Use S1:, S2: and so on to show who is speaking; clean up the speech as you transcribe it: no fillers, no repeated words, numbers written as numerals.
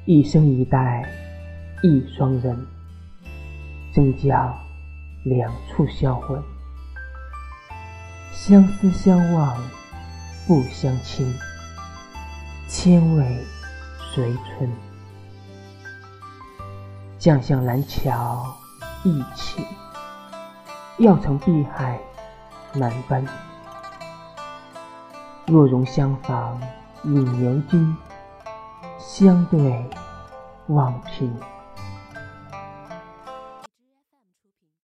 S1: 一生一代一双人，怎教两处销魂？相思相望不相亲，千味随春。将向蓝桥一起，要乘碧海难奔。若容相逢饮牛津，相对望平。